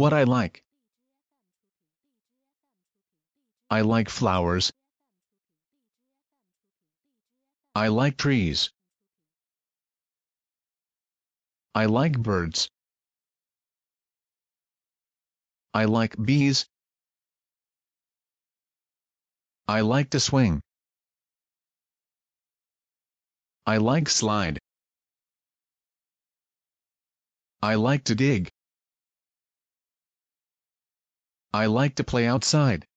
What I like. I like flowers. I like trees. I like birds. I like bees. I like to swing. I like slide. I like to dig. I like to play outside.